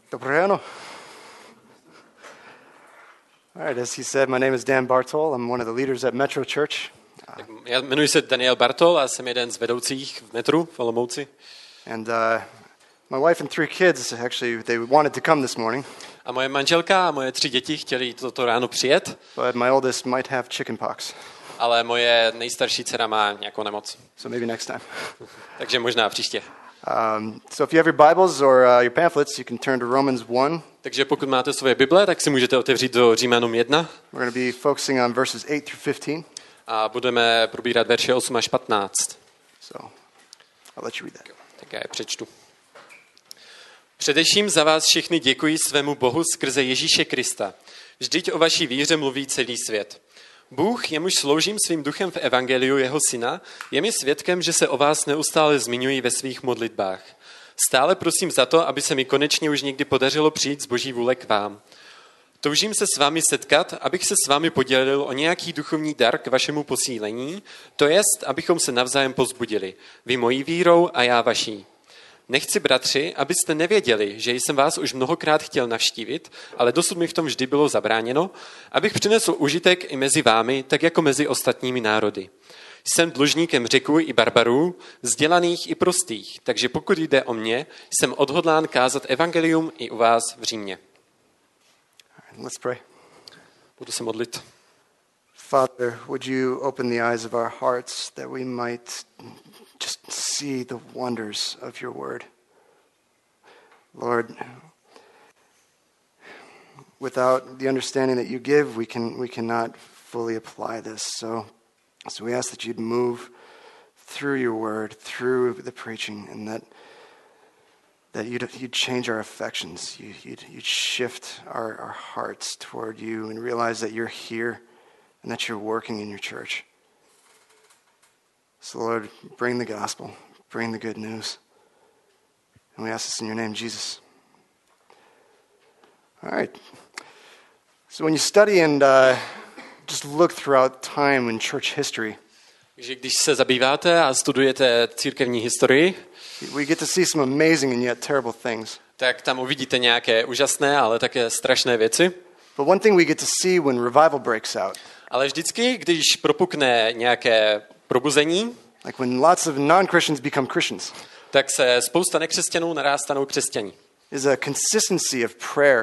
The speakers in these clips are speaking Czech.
Dobré ráno. All right, as he said, my name is Dan Bartol. I'm one of the leaders at Metro Church. Já jmenuji se Daniel Bartol a jsem jeden z vedoucích v Metru v Olomouci. And my wife and 3 kids, actually, they wanted to come this morning. A moje manželka a moje 3 děti chtěli toto ráno přijet. But my oldest might have chickenpox. Ale moje nejstarší dcera má nějakou nemoc. So maybe next time. Takže možná příště. So if you have your Bibles or your pamphlets, you can turn to Romans 1. Takže pokud máte svoje Bible, tak si můžete otevřít do Římanům 1. We're going to be focusing on verses 8 through 15. A budeme probírat verše 8 až 15. So I'll let you read that. Tak já je přečtu. Především za vás všechny děkuji svému Bohu skrze Ježíše Krista. Vždyť o vaší víře mluví celý svět. Bůh, jemuž sloužím svým duchem v evangeliu jeho syna, je mi svědkem, že se o vás neustále zmiňuji ve svých modlitbách. Stále prosím za to, aby se mi konečně už někdy podařilo přijít z Boží vůle k vám. Toužím se s vámi setkat, abych se s vámi podělil o nějaký duchovní dar k vašemu posílení, to jest, abychom se navzájem povzbudili, vy mojí vírou a já vaší. Nechci, bratři, abyste nevěděli, že jsem vás už mnohokrát chtěl navštívit, ale dosud mi v tom vždy bylo zabráněno, abych přinesl užitek i mezi vámi, tak jako mezi ostatními národy. Jsem dlužníkem Řeků i barbarů, vzdělaných i prostých, takže pokud jde o mě, jsem odhodlán kázat evangelium i u vás v Římě. Let's pray. Budu se modlit. Father, would you open the eyes of our hearts that we might just see the wonders of your word? Lord, without the understanding that you give, we cannot fully apply this. So we ask that you'd move through your word, through the preaching, and that you'd change our affections. You'd shift our hearts toward you and realize that you're here and that you're working in your church. So Lord, bring the gospel, bring the good news. And we ask this in your name, Jesus. All right. So when you study and just look throughout time in church history, Takže když se zabýváte a studujete církevní historii, we get to see some amazing and yet terrible things. tak tam uvidíte nějaké úžasné, ale také strašné věci. But one thing we get to see when revival breaks out, Ale vždycky, když propukne nějaké probuzení, like when lots of non-Christians become Christians, tak se spousta nekřesťanů stanou křesťaní. is a consistency of prayer.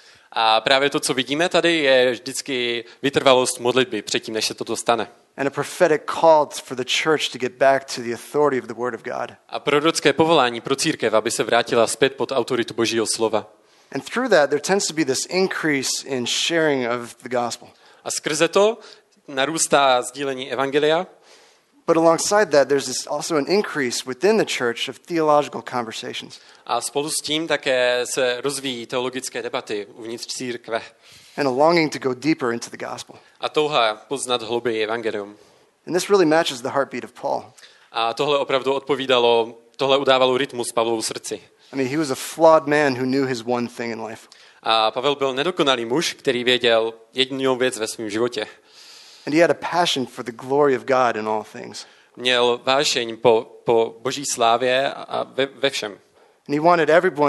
A právě to, co vidíme tady, je vždycky vytrvalost modlitby předtím, než se toto stane. And a prophetic call for the church to get back to the authority of the Word of God. A prorocké povolání pro církev, aby se vrátila zpět pod autoritu Božího slova. And through that, there tends to be this increase in sharing of the gospel. A skrze to narůstá sdílení evangelia. But alongside that, there's also an increase within the church of theological conversations. A spolu s tím také se rozvíjí teologické debaty uvnitř církve. And a longing to go deeper into the gospel. A touha poznat hlouběji evangelium. And this really matches the heartbeat of Paul. A tohle opravdu tohle udávalo rytmus Pavlovu srdci. I mean, he was a flawed man who knew his one thing in life. A Pavel byl nedokonalý muž, který věděl jedinou věc ve svém životě. And he had a passion for the glory of God in all things. Měl vášeň po Boží slávě a ve všem. And he wanted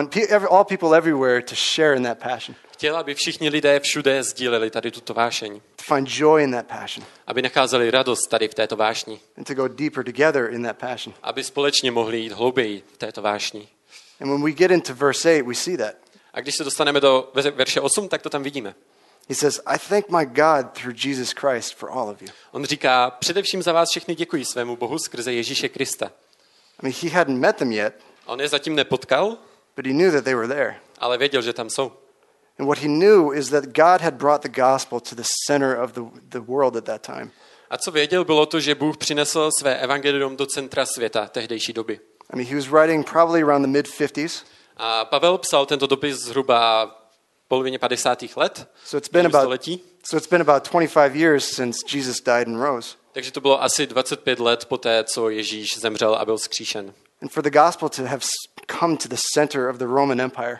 all people everywhere to share in that passion. Chtěl, aby všichni lidé všude sdíleli tady tuto vášeň. To find joy in that passion. Aby nacházeli radost tady v této vášni. And to go deeper together in that passion. Aby společně mohli jít hlouběji v této vášni. And when we get into verse 8, we see that. A když se dostaneme do verše 8, tak to tam vidíme. He says, I thank my God through Jesus Christ for all of you. On říká, především za vás všechny děkuji svému Bohu skrze Ježíše Krista. I mean, he hadn't met them yet, On je zatím nepotkal, but he knew that they were there. ale věděl, že tam jsou. And what he knew is that God had brought the gospel to the center of the world at that time. A co věděl, bylo to, že Bůh přinesl své evangelium do centra světa tehdejší doby. I mean, he was writing probably around the mid-50s. A Pavel psal tento dopis zhruba v polovině 50. let. So it's been about 25 years since Jesus died and rose. Takže to bylo asi 25 let poté, co Ježíš zemřel a byl vzkříšen. And for the gospel to have come to the center of the Roman Empire.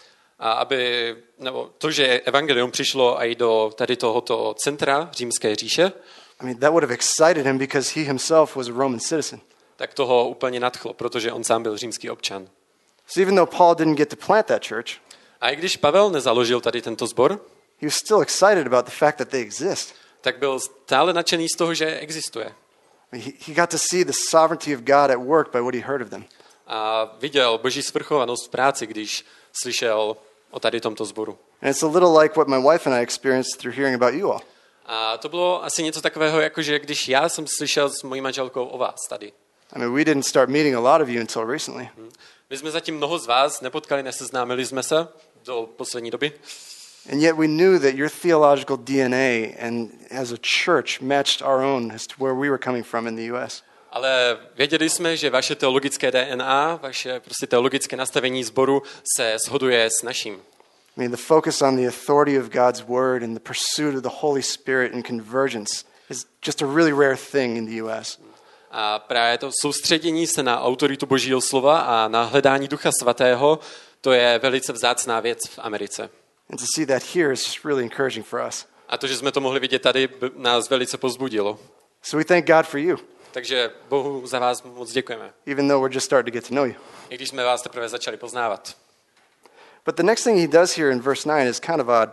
A to, že evangelium přišlo i do tady tohoto centra římské říše, I mean, that would have excited him because he himself was a Roman citizen. Tak toho úplně nadchlo, protože on sám byl římský občan. So even though Paul didn't get to plant that church, A i když Pavel nezaložil tady tento sbor, he was still excited about the fact that they exist. tak byl stále nadšený z toho, že existuje. He got to see the sovereignty of God at work by what he heard of them. A viděl Boží svrchovanost v práci, když slyšel o tady tomto sboru. And it's a little like what my wife and I experienced through hearing about you all. A to bylo asi něco takového, jako že když já jsem slyšel s mojí manželkou o vás tady. I mean, we didn't start meeting a lot of you until recently. My jsme zatím mnoho z vás nepotkali, neseznámili jsme se do poslední doby. And yet we knew that your theological DNA and as a church matched our own as to where we were coming from in the US. Ale věděli jsme, že vaše teologické DNA, vaše prostě teologické nastavení sboru se shoduje s naším. I mean, the focus on the authority of God's word and the pursuit of the Holy Spirit and convergence is just a really rare thing in the US. A právě to soustředění se na autoritu Božího slova a na hledání Ducha Svatého, to je velice vzácná věc v Americe. And to see that here is just really encouraging for us. A to, že jsme to mohli vidět tady, nás velice povzbudilo. So we thank God for you, Takže Bohu za vás moc děkujeme. even though we're just starting to get to know you. I když jsme vás teprve začali poznávat. But the next thing he does here in verse 9 is kind of odd.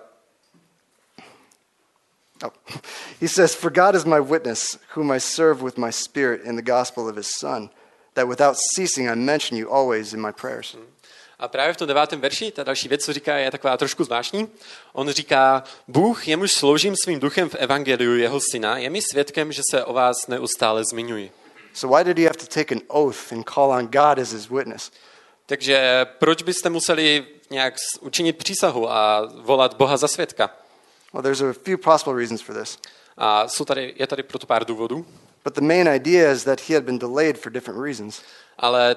Oh. He says, "For God is my witness, whom I serve with my spirit in the gospel of his Son, that without ceasing I mention you always in my prayers." A právě v tom 9. verši, ta další věc, co říká, je taková trošku zvláštní. On říká, Bůh, jemuž sloužím svým duchem v evangeliu jeho syna, je mi svědkem, že se o vás neustále zmiňuji. So why did he have to take an oath and call on God as his witness? Takže proč byste museli nějak učinit přísahu a volat Boha za svědka? Well, there's a few possible reasons for this. A je tady proto pár důvodů. But the main idea is that he had been delayed for different reasons. Ale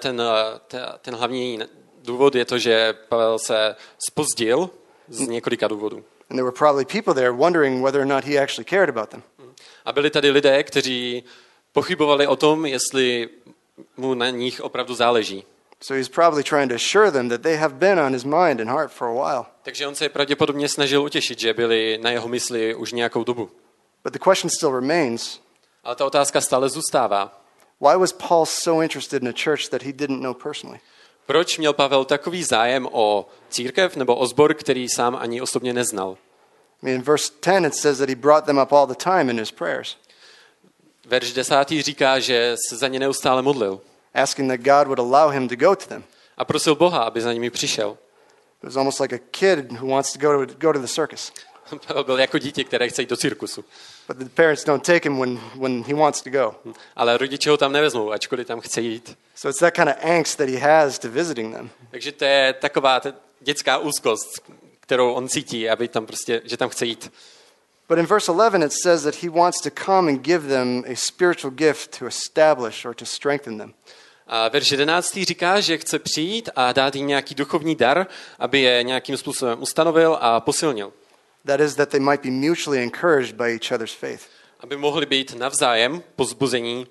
ten hlavní důvod je to, že Pavel se zpozdil z několika důvodů. And there were probably people there wondering whether or not he actually cared about them. A byli tady lidé, kteří pochybovali o tom, jestli mu na nich opravdu záleží. So he's probably trying to assure them that they have been on his mind and heart for a while. Takže on se pravděpodobně snažil utěšit, že byli na jeho mysli už nějakou dobu. But the question still remains, Ale ta otázka stále zůstává. why was Paul so interested in a church that he didn't know personally? Proč měl Pavel takový zájem o církev nebo o sbor, který sám ani osobně neznal? I mean, in verse 10 it says that he brought them up all the time in his prayers, Verš 10. říká, že se za ně neustále modlil asking that God would allow him to go to them. a prosil Boha, aby za nimi přišel. It was almost like a kid who wants to go to the circus, Pavel byl jako dítě, které chce jít do cirkusu. but the parents don't take him when he wants to go. Ale rodiče ho tam nevezmou, ačkoliv tam chce jít. So it's that kind of angst that he has to visiting them. Takže to je taková dětská úzkost, kterou on cítí, aby tam prostě, že tam chce jít. But in verse 11 it says that he wants to come and give them a spiritual gift to establish or to strengthen them. A verš 11. říká, že chce přijít a dát jim nějaký duchovní dar, aby je nějakým způsobem ustanovil a posilnil. That is, that they might be mutually encouraged by each other's faith. Aby mohli být navzájem pozbuzení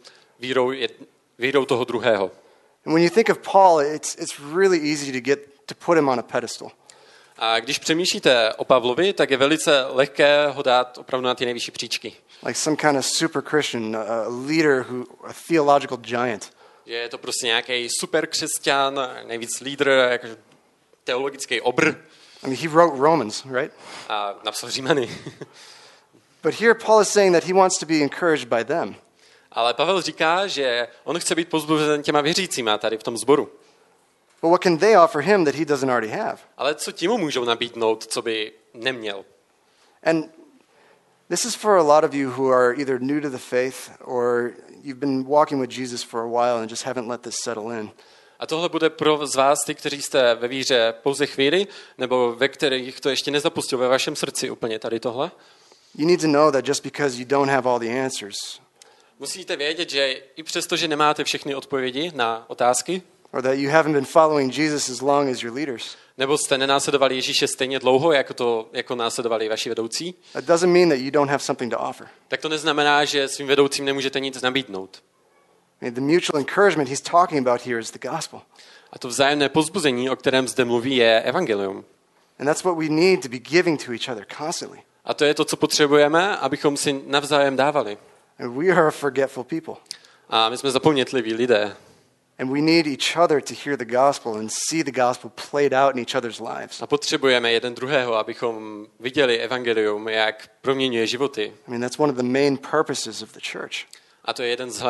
vírou toho druhého. And when you think of Paul, it's really easy to put him on a pedestal. A když přemýšlíte o Pavlovi, tak je velice lehké ho dát opravdu na ty nejvyšší příčky. Like some kind of super Christian, a leader, a theological giant. Že je to prostě nějaký super křesťan, nejvíc lídr, jako teologický obr. I mean, he wrote Romans, right? A napsal Římany. But here Paul is saying that he wants to be encouraged by them. Ale Pavel říká, že on chce být pozbuzen těma věřícíma tady v tom sboru. But what can they offer him that he doesn't already have? Ale co ti mu můžou nabídnout, co by neměl? And this is for a lot of you who are either new to the faith or you've been walking with Jesus for a while and just haven't let this settle in. A tohle bude pro z vás, ty, kteří jste ve víře pouze chvíli, nebo ve kterých to ještě nezapustil ve vašem srdci úplně tady tohle. You need to know that just because you don't have all the answers, Musíte vědět, že i přesto, že nemáte všechny odpovědi na otázky, or that you haven't been following Jesus as long as your leaders, nebo jste nenásledovali Ježíše stejně dlouho, jako následovali vaši vedoucí, that doesn't mean that you don't have something to offer. tak to neznamená, že svým vedoucím nemůžete nic nabídnout. I mean, the mutual encouragement he's talking about here is the gospel. A to vzájemné povzbuzení, o kterém zde mluví, je evangelium. And that's what we need to be giving to each other constantly. A to je to, co potřebujeme, abychom si navzájem dávali. And we are a forgetful people. A my jsme zapomnětliví lidé. And we need each other to hear the gospel and see the gospel played out in each other's lives. A potřebujeme jeden druhého, abychom viděli evangelium, jak proměňuje životy. I mean, that's one of the main purposes of the church. A to je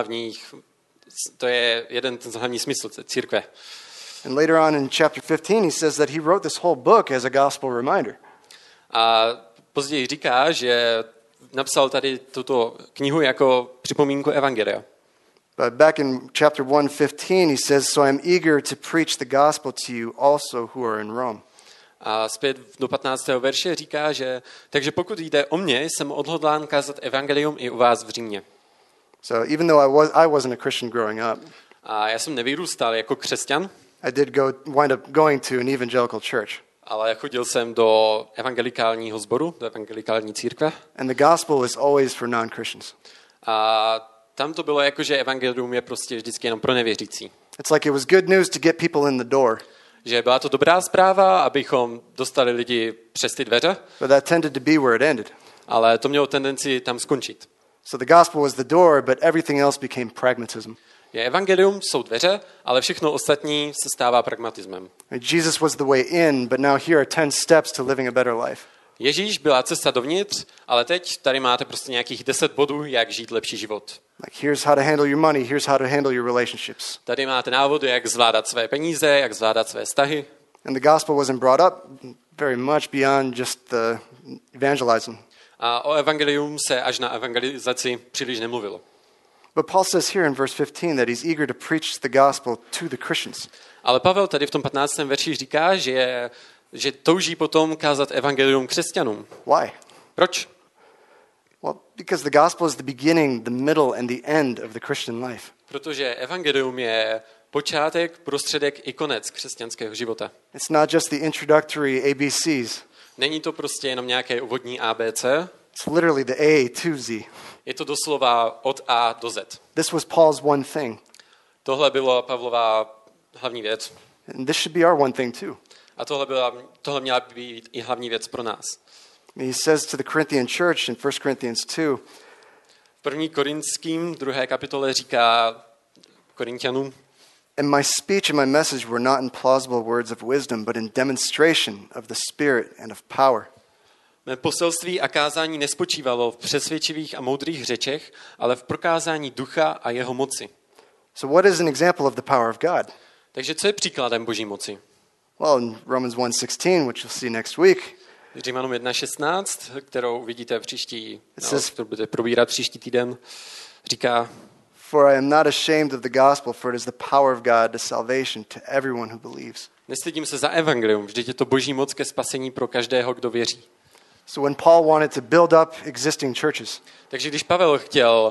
jeden z hlavních smyslů církve. And later on in chapter 15, he says that he wrote this whole book as a gospel reminder. A později říká, že napsal tady tuto knihu jako připomínku evangelia. But back in chapter 1:15, he says, "So I'm eager to preach the gospel to you also who are in Rome." A zpět do 15. verše říká, že takže pokud jde o mě, jsem odhodlán kázat evangelium i u vás v Římě. So even though I wasn't a Christian growing up, A já jsem nevyrůstal jako křesťan, I did wind up going to an evangelical church. ale chodil jsem do evangelikálního sboru, do evangelikální církve. And the gospel is always for non-Christians. A tam to bylo jako, že evangelium je prostě vždycky jenom pro nevěřící. It's like it was good news to get people in the door, Že byla to dobrá zpráva, abychom dostali lidi přes ty dveře, but that tended to be where it ended. ale to mělo tendenci tam skončit. So the gospel was the door, but everything else became pragmatism. Je evangelium, jsou dveře, ale všechno ostatní se stává pragmatismem. Jesus was the way in, but now here are 10 steps to living a better life. Ježíš byla cesta dovnitř, ale teď tady máte prostě nějakých 10 bodů, jak žít lepší život. Like here's how to handle your money, here's how to handle your relationships. Tady máte návody, jak zvládat své peníze, jak zvládat své vztahy. And the gospel wasn't brought up very much beyond just the evangelizing. A o evangelium se až na evangelizaci příliš nemluvilo. But Paul says here in verse 15 that he's eager to preach the gospel to the Christians. Ale Pavel tady v tom 15. verši říká, že touží potom kázat evangelium křesťanům. Why? Proč? Well, because the gospel is the beginning, the middle, and the end of the Christian life. Protože evangelium je počátek, prostředek i konec křesťanského života. It's not just the introductory ABCs. Není to prostě jenom nějaké úvodní ABC, It's literally the A to Z. je to doslova od A do Z. This was Paul's one thing. Tohle byla Pavlova hlavní věc. And this should be our one thing too. A tohle měla být i hlavní věc pro nás. He says to the Corinthian church in 1 Corinthians 2, V 1. Korinským 2. kapitole říká Korinťanům: "And my speech and my message were not in plausible words of wisdom, but in demonstration of the Spirit and of power." Mé poselství a kázání nespočívalo v přesvědčivých a moudrých řečech, ale v prokázání ducha a jeho moci. So what is an example of the power of God? Takže co je příkladem Boží moci? Well, in Romans 1:16, which you'll see next week, Římanům 1.16, kterou vidíte says- kterou budete probírat příští týden, říká: "For I am not ashamed of the gospel, for it is the power of God to salvation to everyone who believes." Nestydím se za evangelium, vždyť je to Boží moc ke spasení pro každého, kdo věří. So when Paul wanted to build up existing churches, Takže když Pavel chtěl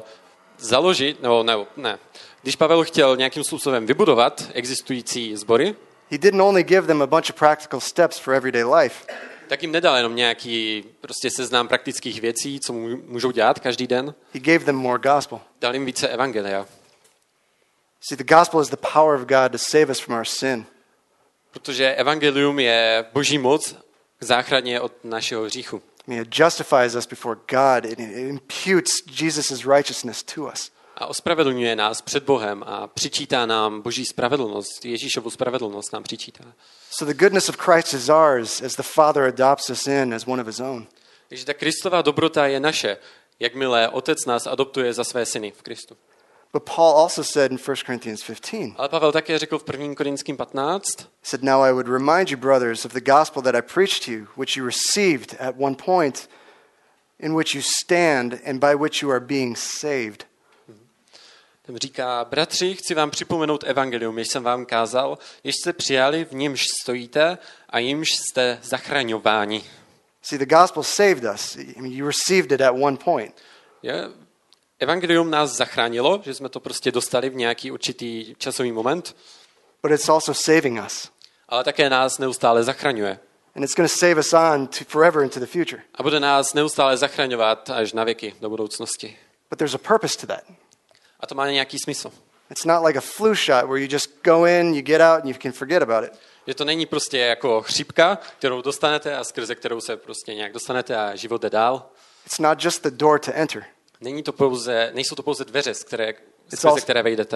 když Pavel chtěl nějakým způsobem vybudovat existující sbory, he didn't only give them a bunch of practical steps for everyday life. tak jim nedal jenom nějaký prostě seznam praktických věcí, co můžou dělat každý den. He gave them more gospel. Dal jim více evangelia. See, the gospel is the power of God to save us from our sin. Protože evangelium je Boží moc k záchraně od našeho hříchu. I mean, it justifies us before God. It imputes Jesus' righteousness to us. A ospravedlňuje nás před Bohem a přičítá nám Boží spravedlnost, Ježíšovu spravedlnost nám přičítá. So the goodness of Christ is ours as the Father adopts us in as one of his own. Takže ta Kristova dobrota je naše, jakmile Otec nás adoptuje za své syny v Kristu. But Paul also said in 1 Corinthians 15, Ale Pavel také řekl v 1. Korinským 15, he said, "Now I would remind you, brothers, of the gospel that I preached to you, which you received at one point, in which you stand and by which you are being saved." tam říká: bratři, chci vám připomenout evangelium, jež jsem vám kázal, jež jste přijali, v němž stojíte a jimž jste zachraňováni. See, the gospel saved us. I mean, you received it at one point. Evangelium nás zachránilo, že jsme to prostě dostali v nějaký určitý časový moment, But it's also saving us. ale také nás neustále zachraňuje. And it's going to save us on to forever into the future. A bude nás neustále zachraňovat až na věky do budoucnosti. But there's a purpose to that. A to má nějaký smysl. It's not like a flu shot where you just go in, you get out, and you can forget about it. Že to není prostě jako chřipka, kterou dostanete a skrze kterou se prostě nějak dostanete a život jde dál. It's not just the door to enter. Nejsou to pouze dveře, skrze které vejdete.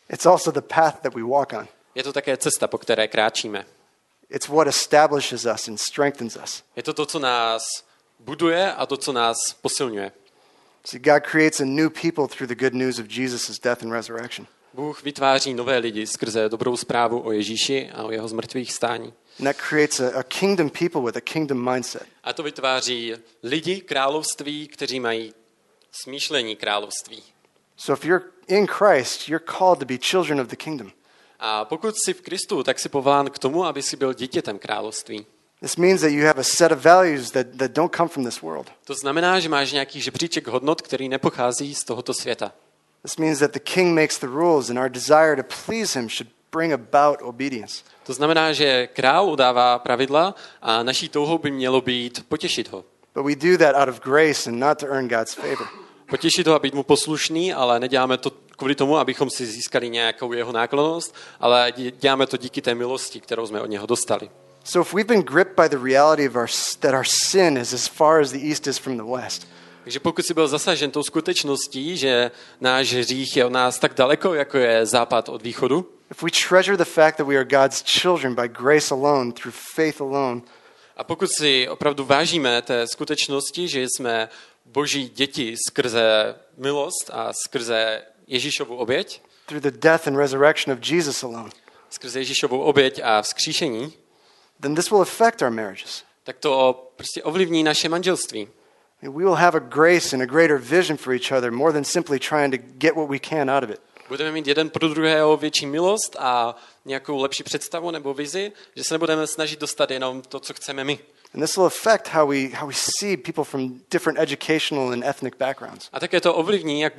It's also the path that we walk on. Je to také cesta, po které kráčíme. It's what establishes us and strengthens us. Je to to, co nás buduje a to, co nás posilňuje. See, God creates a new people through the good news of Jesus' death and resurrection. Bůh vytváří nové lidi skrze dobrou zprávu o Ježíši a o jeho zmrtvých stání. And that creates a kingdom people with a kingdom mindset. A to vytváří lidi království, kteří mají smýšlení království. So if you're in Christ, you're called to be children of the kingdom. A pokud jsi v Kristu, tak jsi povolán k tomu, aby jsi byl dítětem království. This means that you have a set of values that don't come from this world. To znamená, že máš nějaký žebříček hodnot, který nepochází z tohoto světa. This means that the king makes the rules and our desire to please him should bring about obedience. To znamená, že král udává pravidla a naší touhou by mělo být potěšit ho. But we do that out of grace and not to earn God's favor. Potěšit ho a být mu poslušný, ale neděláme to kvůli tomu, abychom si získali nějakou jeho náklonnost, ale děláme to díky té milosti, kterou jsme od něho dostali. So if we've been gripped by the reality of that our sin is as far as the east is from the west, Takže pokud jsi byl zasažen tou skutečností, že náš hřích je od nás tak daleko, jako je západ od východu, if we treasure the fact that we are God's children by grace alone, through faith alone, a pokud si opravdu vážíme té skutečnosti, že jsme Boží děti skrze milost a skrze Ježíšovu oběť, through the death and resurrection of Jesus alone, skrze Ježíšovu oběť a vzkříšení, then this will affect our marriages. tak to prostě ovlivní naše manželství. We will have a grace and a greater vision for each other more than simply trying to get what we can out of it. Budeme mít jeden pro druhého větší milost a nějakou lepší představu nebo vizi, že se nebudeme snažit dostat jenom to, co chceme my. And this will affect how we see people from different educational and ethnic backgrounds. A také to ovlivní, jak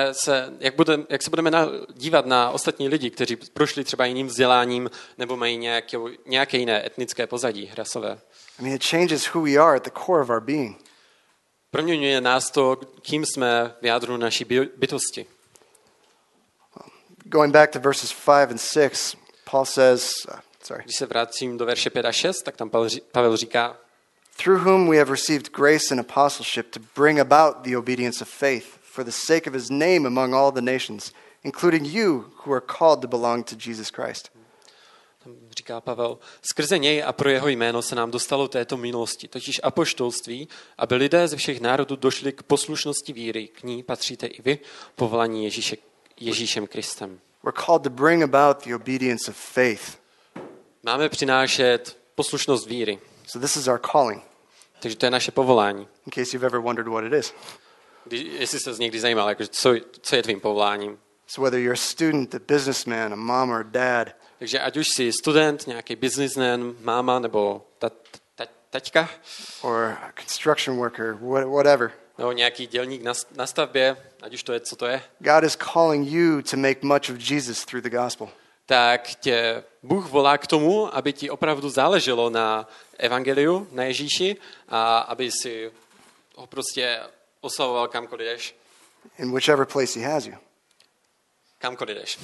se budeme dívat na ostatní lidi, kteří prošli třeba jiným vzděláním nebo mají nějaké jiné etnické pozadí rasové. I mean, it changes who we are at the core of our being. Proměňuje nás to, kým jsme v jádru naší bytosti. Going back to verses 5 and 6, Paul says, Když se vrátím do verše 5 a 6, tak tam Pavel říká, through whom we have received grace and apostleship to bring about the obedience of faith for the sake of his name among all the nations, including you who are called to belong to Jesus Christ. Tam říká Pavel, skrze něj a pro jeho jméno se nám dostalo této milosti, totiž apoštolství, aby lidé ze všech národů došli k poslušnosti víry. K ní patříte i vy, povolaní Ježíšem Kristem. We're called to bring about the obedience of faith. Máme přinášet poslušnost víry. So this is our calling, Takže to je naše povolání. in case you've ever wondered what it is. Jestli se někdy zajímal, jako, co je tvým povoláním. So whether you're a student, a businessman, a mom or a dad, Takže ať už jsi student, nějaký businessman, máma nebo taťka, or a construction worker, whatever, nebo nějaký dělník na stavbě, ať už to je, co to je, God is calling you to make much of Jesus through the gospel. tak tě Bůh volá k tomu, aby ti opravdu záleželo na evangeliu, na Ježíši a aby si ho prostě oslavoval kamkoliv jdeš. In whichever place he has you. Kamkoliv jdeš.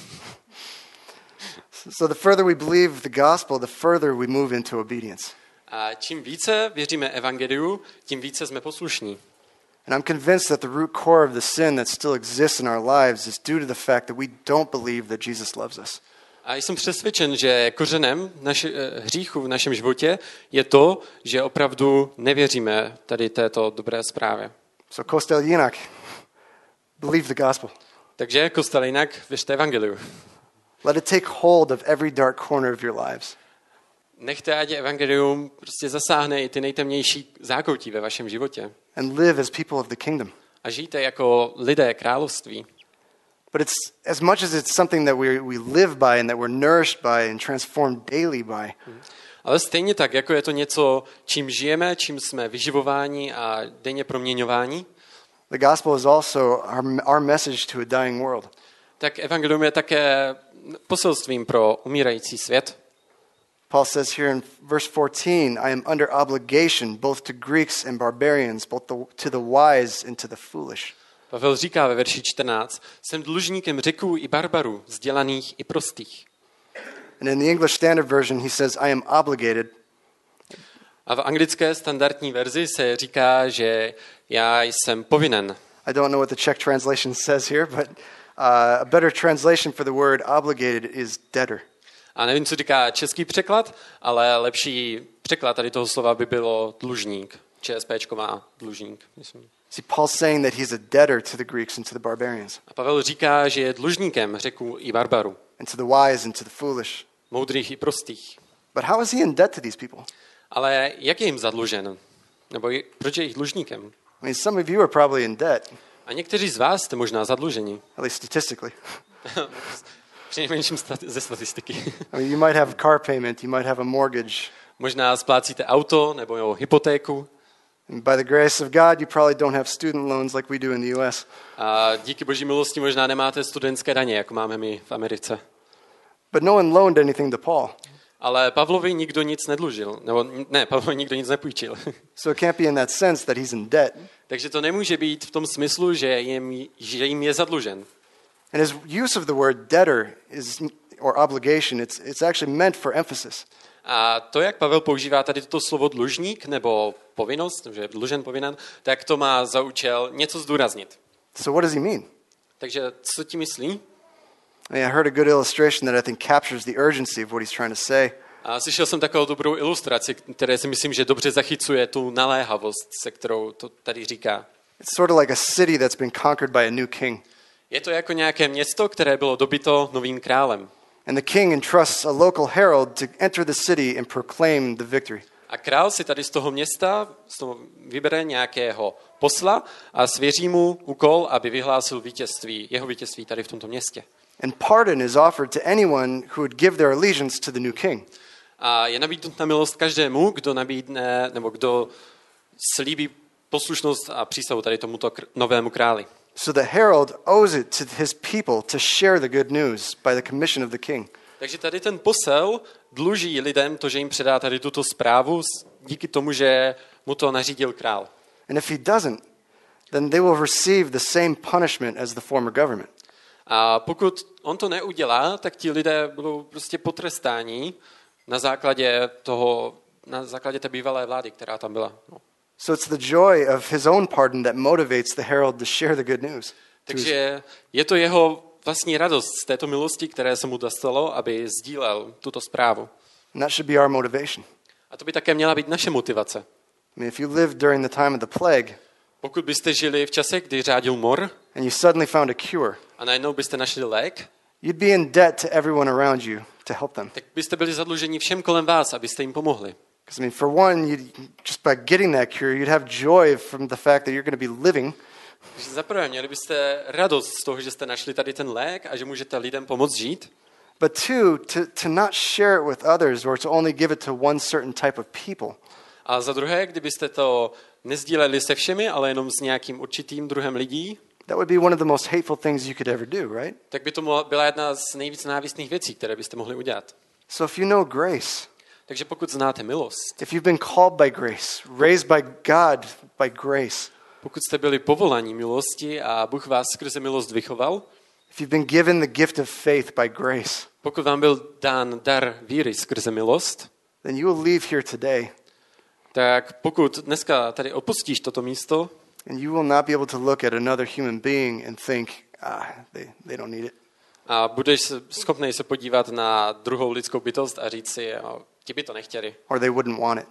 So the further we believe the gospel, the further we move into obedience. A čím více věříme evangeliu, tím více jsme poslušní. And I'm convinced that the root core of the sin that still exists in our lives is due to the fact that we don't believe that Jesus loves us. A jsem přesvědčen, že kořenem hříchu v našem životě je to, že opravdu nevěříme tady této dobré zprávě. So Kostel Jinak, believe the gospel. Takže kostel jinak věřte evangeliu. Let it take hold of every dark corner of your lives. Nechte, ať evangelium prostě zasáhne i ty nejtemnější zákoutí ve vašem životě. And live as people of the kingdom. A žijte jako lidé království. But it's as much as it's something that we live by and that we're nourished by and transformed daily by. Ale stejně tak, jako je to něco, čím žijeme, čím jsme vyživováni a denně proměňováni, The gospel is also our message to a dying world. tak evangelium je také poselstvím pro umírající svět. Paul says here in verse 14, I am under obligation both to Greeks and barbarians, both to the wise and to the foolish. Pavel říká ve verši 14, jsem dlužníkem Řeků i barbarů, vzdělaných i prostých. And in the English Standard Version, he says, I am obligated. A v anglické standardní verzi se říká, že já jsem povinen. I don't know what the Czech translation says here, but A better translation for the word obligated is debtor. A nevím, co říká český překlad, ale lepší překlad tady toho slova by bylo dlužník. ČSPčko má dlužník, myslím. See, Paul's saying that he's a debtor to the Greeks and to the barbarians, A Pavel říká, že je dlužníkem Řeků i barbarů, and to the wise and to the foolish. moudrých i prostých. But how is he in debt to these people? Ale jak je jim zadlužen? Nebo proč je jich dlužníkem? I mean, some of you are probably in debt, A někteří z vás jste možná zadluženi. at least statistically. Přinejmenším ze statistiky. I mean, you might have a car payment, you might have a mortgage. Možná splácíte auto nebo hypotéku. And by the grace of God, you probably don't have student loans like we do in the US. A díky boží milosti možná nemáte studentské daně, jako máme my v Americe. But no one loaned anything to Paul. Ale Pavlovi nikdo nic nedlužil. Nebo ne, Pavlovi nikdo nic nepůjčil. So it can't be in that sense that he's in debt. Takže to nemůže být v tom smyslu, že jim je zadlužen. And his use of the word debtor or obligation, it's actually meant for emphasis. A to, jak Pavel používá tady toto slovo dlužník nebo povinnost, že je dlužen, povinen, tak to má za účel něco zdůraznit. So what does he mean? Takže co ti myslí? I heard a good illustration that I think captures the urgency of what he's trying to say. A slyšel jsem takovou dobrou ilustraci, které si myslím, že dobře zachycuje tu naléhavost, se kterou to tady říká. It's sort of like a city that's been conquered by a new king. Je to jako nějaké město, které bylo dobyto novým králem. And the king entrusts a local herald to enter the city and proclaim the victory. A král si tady z toho města vybere nějakého posla a svěří mu úkol, aby vyhlásil jeho vítězství tady v tomto městě. And pardon is offered to anyone who would give their allegiance to the new king. A je nabídnuta milost každému, kdo nabídne, nebo kdo slíbí poslušnost a přísahu tady tomuto novému králi. So the herald owes it to his people to share the good news by the commission of the king. Takže tady ten posel dluží lidem to, že jim předá tady tuto zprávu díky tomu, že mu to nařídil král. And if he doesn't, then they will receive the same punishment as the former government. A pokud on to neudělá, tak ti lidé budou prostě potrestáni na základě té bývalé vlády, která tam byla. No. So it's the joy of his own pardon that motivates the herald to share the good news. Takže je to jeho vlastní radost z této milosti, které se mu dostalo, aby sdílel tuto zprávu. And that should be our motivation. A to by také měla být naše motivace. I mean, if you lived during the time of the plague, Pokud byste žili v čase, kdy řádil mor, and you suddenly found a cure, a najednou byste našli lék, you'd be in debt to everyone around you to help them. tak byste byli zadluženi všem kolem vás, abyste jim pomohli. Because I mean, for one, just by getting that cure, you'd have joy from the fact that you're going to be living. Takže zaprvé měli byste radost z toho, že jste našli tady ten lék a že můžete lidem pomoct žít. But two, to not share it with others or to only give it to one certain type of people. A za druhé, kdybyste to nezdíleli se všemi, ale jenom s nějakým určitým druhem lidí, That would be one of the most hateful things you could ever do, right? tak by to byla jedna z nejvíc nenávistných věcí, které byste mohli udělat. So if you know grace, Takže pokud znáte milost, if you've been called by grace, raised by God by grace, pokud jste byli povolaní milosti a Bůh vás skrze milost vychoval, if you've been given the gift of faith by grace, pokud vám byl dán dar víry skrze milost, then you will leave here today tak pokud dneska tady opustíš toto místo, and you will not be able to look at another human being and think, they don't need it. a budeš schopný se podívat na druhou lidskou bytost a říct si, ti by to nechtěli. Or they wouldn't want it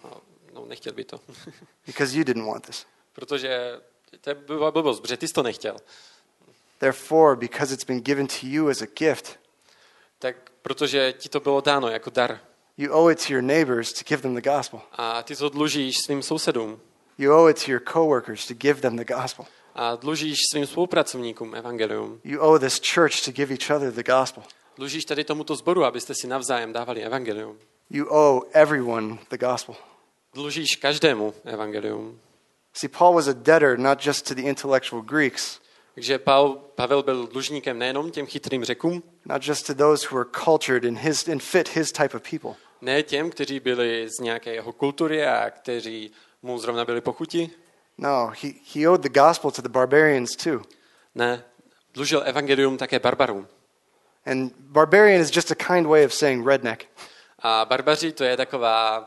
No, nechtěl by to. because you didn't want this. Protože to je blbost, protože ty jsi to nechtěl. Therefore, because it's been given to you as a gift, Tak protože ti to bylo dáno jako dar. you owe it to your neighbors to give them the gospel. A ty to dlužíš svým sousedům. You owe it to your coworkers to give them the gospel. A dlužíš svým spolupracovníkům evangelium. You owe this church to give each other the gospel. Dlužíš tady tomuto sboru, abyste si navzájem dávali evangelium. You owe everyone the gospel. Dlužíš každému evangelium. See, Paul was a debtor not just to the intellectual Greeks, Takže Pavel byl dlužníkem nejenom těm chytrým Řekům, not just to those who were cultured and fit his type of people, ne těm, kteří byli z nějaké jeho kultury a kteří mu zrovna byli pochuti. No, he owed the gospel to the barbarians too. Ne, dlužil evangelium také barbarům. And barbarian is just a kind way of saying redneck. A barbaři to je taková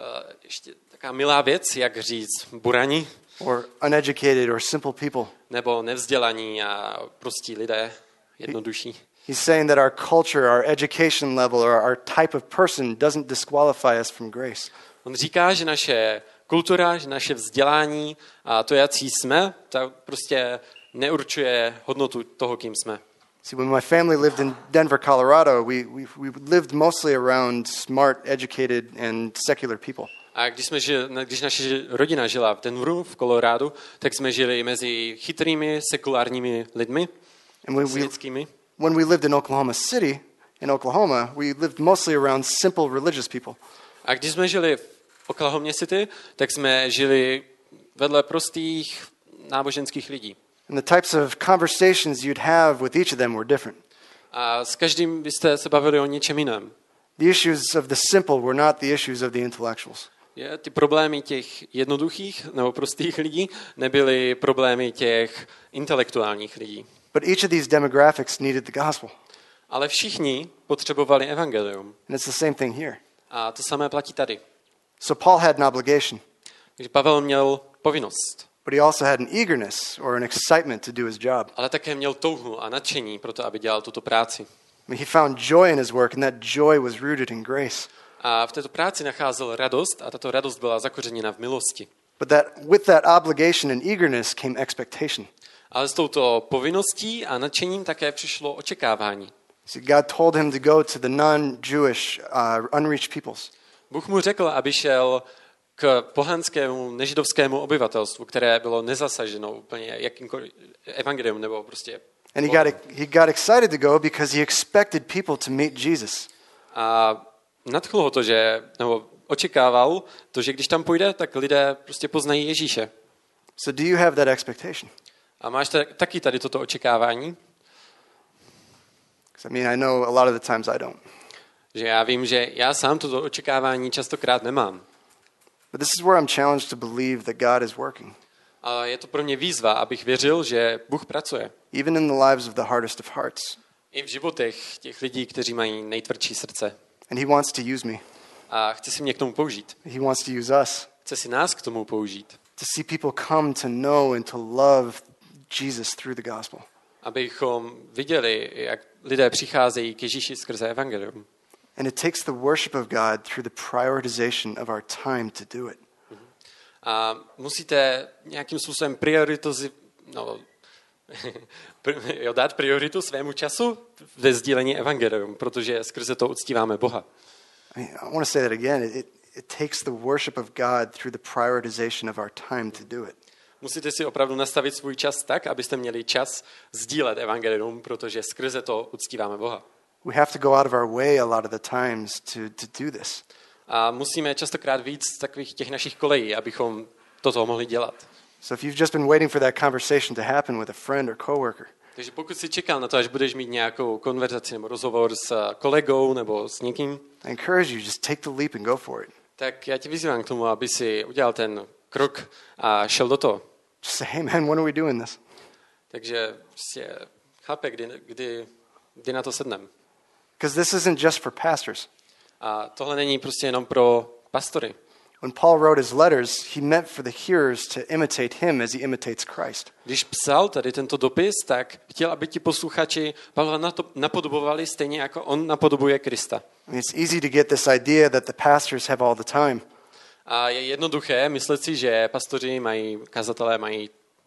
ještě taková milá věc, jak říct burani, Or uneducated or simple people. nebo nevzdělaní a prostí lidé. jednodušší. He's saying that our culture, our education level, or our type of person doesn't disqualify us from grace. On říká, že naše kultura, že naše vzdělání a to, jací jsme, to prostě neurčuje hodnotu toho, kým jsme. See, when my family lived in Denver, Colorado, we lived mostly around smart, educated, and secular people. A když naše rodina žila v Denveru, v Kolorádu, tak jsme žili mezi chytrými, sekulárními lidmi, světskými. When we lived in Oklahoma City, in Oklahoma, we lived mostly around simple religious people. A když jsme žili v Oklahoma City, tak jsme žili vedle prostých náboženských lidí. And the types of conversations you'd have with each of them were different. A s každým byste se bavili o něčem jiném. The issues of the simple were not the issues of the intellectuals. Ty problémy těch jednoduchých nebo prostých lidí nebyly problémy těch intelektuálních lidí. But each of these demographics needed the gospel. Ale všichni potřebovali evangelium. And it's the same thing here. A to samé platí tady. So Paul had an obligation. Takže Pavel měl povinnost. But he also had an eagerness or an excitement to do his job. Ale také měl touhu a nadšení pro to, aby dělal tuto práci. I mean, he found joy in his work, and that joy was rooted in grace. A v této práci nacházel radost a tato radost byla zakořeněna v milosti. But with that obligation and eagerness came expectation. Ale s touto povinností a nadšením také přišlo očekávání. See, God told him to go to the non-Jewish, unreached peoples. Bůh mu řekl, aby šel k pohanskému, nežidovskému obyvatelstvu, které bylo nezasaženo úplně jakýmkoliv evangelium nebo prostě. And he got excited to go because he expected people to meet Jesus. A nadchlo ho to, nebo očekával to, že když tam půjde, tak lidé prostě poznají Ježíše. So do you have that expectation? A máš taky tady toto očekávání? I mean, I know a lot of the times I don't. Že já vím, že já sám toto očekávání častokrát nemám. But this is where I'm challenged to believe that God is working. Ale je to pro mě výzva, abych věřil, že Bůh pracuje. Even in the lives of the hardest of hearts. I v životech těch lidí, kteří mají nejtvrdší srdce. And he wants to use me. A chce si mě k tomu použít. He wants to use us. Chce si nás k tomu použít. To see people come to know and to love Jesus through the gospel. Abychom viděli, jak lidé přicházejí k Ježíši skrze evangelium. And it takes the worship of God through the prioritization of our time to do it. A musíte nějakým způsobem dát prioritu svému času ve sdílení evangelium, protože skrze to uctíváme Boha. I want to say that again. It takes the worship of God through the prioritization of our time to do it. Musíte si opravdu nastavit svůj čas tak, abyste měli čas sdílet evangelium, protože skrze to uctíváme Boha. We have to go out of our way a lot of the times to do this. A musíme častokrát víc z takových těch našich kolejí, abychom toto mohli dělat. So if you've just been waiting for that conversation to happen with a friend or coworker, takže pokud si čekal na to, až budeš mít nějakou konverzaci nebo rozhovor s kolegou nebo s někým, I encourage you, just take the leap and go for it. Tak já tě vyzývám k tomu, aby si udělal ten krok a šel do toho. Just say, hey man, when are we doing this? Takže prostě chápe, kdy na to sedneme. Because this isn't just for pastors. A tohle není prostě jenom pro pastory. When Paul wrote his letters, he meant for the hearers to imitate him as he imitates Christ. Když psal tady tento dopis, tak chtěl, aby ti posluchači Pavla napodobovali stejně jako on napodobuje Krista. I mean, it's easy to get this idea that the pastors have all the time. A je jednoduché myslet si, že pastoři kazatelé mají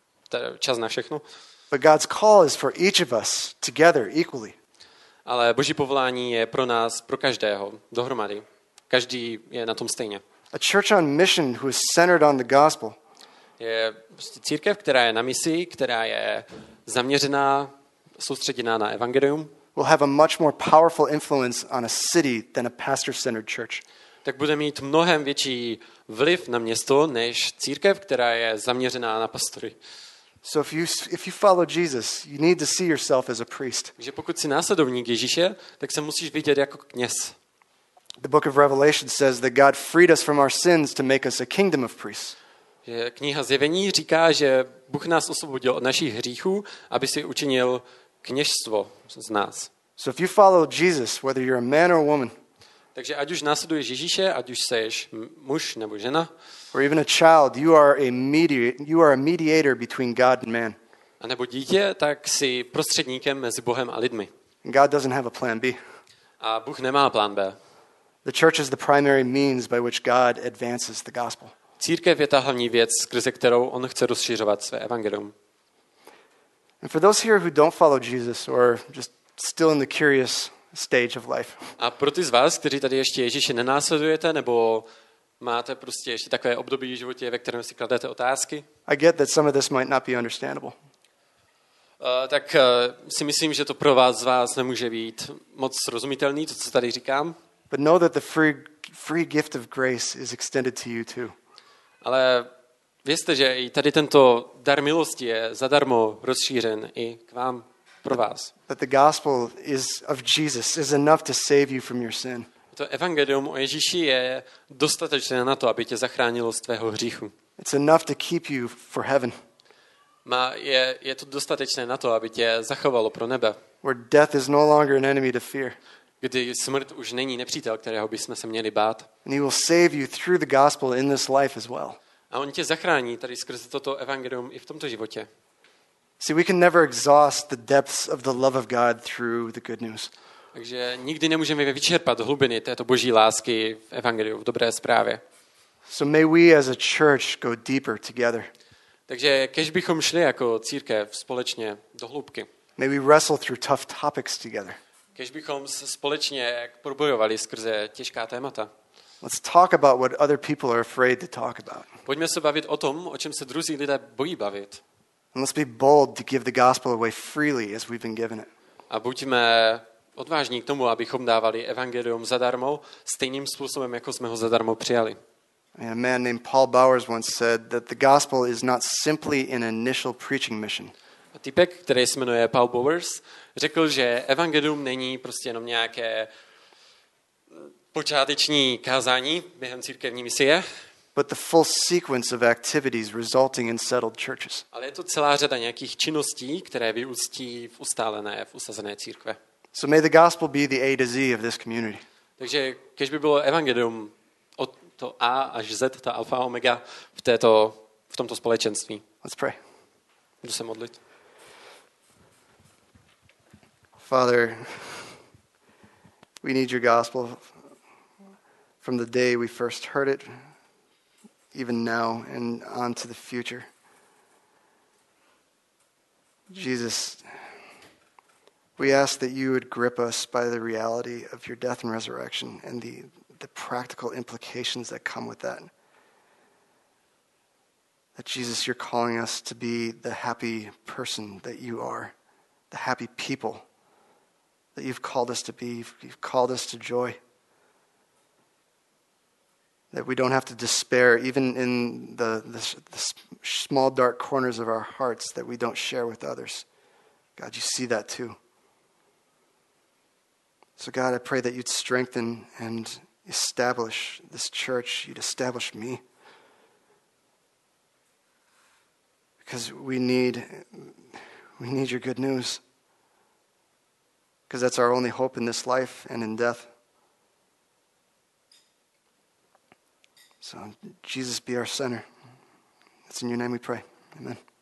čas na všechno. But God's call is for each of us together equally. Ale Boží povolání je pro nás, pro každého, dohromady. Každý je na tom stejně. A church on mission who is centered on the gospel. Je prostě církev, která je na misi, která je zaměřená, soustředěná na evangelium. Will have a much more powerful influence on a city than a pastor-centered church. Tak bude mít mnohem větší vliv na město než církev, která je zaměřená na pastory. So if you follow Jesus, you need to see yourself as a priest. Takže pokud jsi následovník Ježíše, tak se musíš vidět jako kněz. The book of Revelation says that God freed us from our sins to make us a kingdom of priests. Kniha Zjevení říká, že Bůh nás osvobodil od našich hříchů, aby si učinil kněžstvo z nás. So if you follow Jesus, whether you're a man or a woman, takže ať už následuješ Ježíše, ať už seš muž nebo žena, or even a child, you are a mediator between God and man. A nebo dítě, tak si prostředníkem mezi Bohem a lidmi. God doesn't have a plan B. A Bůh nemá plán B. The church is the primary means by which God advances the gospel. Církev je ta hlavní věc, skrze kterou on chce rozšiřovat své evangelium. And for those here who don't follow Jesus or just still in the curious stage of life, A pro ty z vás, kteří tady ještě Ježíše nenásledujete, nebo máte prostě ještě takové období v životě, ve kterém si kladete otázky, I get that some of this might not be understandable. tak si myslím, že to pro vás z vás nemůže být moc srozumitelný, to, co tady říkám. But know that the free gift of grace is extended to you too. Ale vězte, že i tady tento dar milosti je zadarmo rozšířen i k vám, pro vás. That the gospel of Jesus is enough to save you from your sin. To evangelium o Ježíši je dostatečné na to, aby tě zachránilo z tvého hříchu. It's enough to keep you for heaven, Je to dostatečné na to, aby tě zachovalo pro nebe, where death is no longer an enemy to fear. kdy smrt už není nepřítel, kterého bychom se měli bát. And he will save you through the gospel in this life as well. A on tě zachrání tady skrze toto evangelium i v tomto životě. See, we can never exhaust the depths of the love of God through the good news. Takže nikdy nemůžeme vyčerpat hlubiny této boží lásky v evangeliu, v dobré zprávě. So may we as a church go deeper together. Takže kež bychom šli jako církev společně do hloubky. May we wrestle through tough topics together. Kež bychom se společně probojovali skrze těžká témata. Let's talk about what other people are afraid to talk about. Pojďme se bavit o tom, o čem se druzí lidé bojí bavit. And let's be bold to give the gospel away freely as we've been given it. A buďme odvážní k tomu, abychom dávali evangelium zadarmo, stejným způsobem, jako jsme ho zadarmo přijali. A man named Paul Bowers once said that the gospel is not simply an initial preaching mission. A týpek, který se jmenuje Paul Bowers, řekl, že evangelium není prostě jenom nějaké počáteční kázání během církevní misie, but the full sequence of activities resulting in settled churches. ale je to celá řada nějakých činností, které vyústí v usazené církve. So may the gospel be the A to Z of this community. Takže kež by bylo evangelium od to A až Z, ta alfa a omega v tomto společenství. Let's pray. Jdu se modlit. Father, we need your gospel from the day we first heard it, even now and on to the future. Jesus, we ask that you would grip us by the reality of your death and resurrection and the practical implications that come with that. That Jesus, you're calling us to be the happy person that you are, the happy people that you've called us to be. You've called us to joy. That we don't have to despair, even in the small dark corners of our hearts that we don't share with others. God, you see that too. So God, I pray that you'd strengthen and establish this church. You'd establish me. Because we need your good news. Because that's our only hope in this life and in death. So Jesus, be our center. It's in your name we pray. Amen.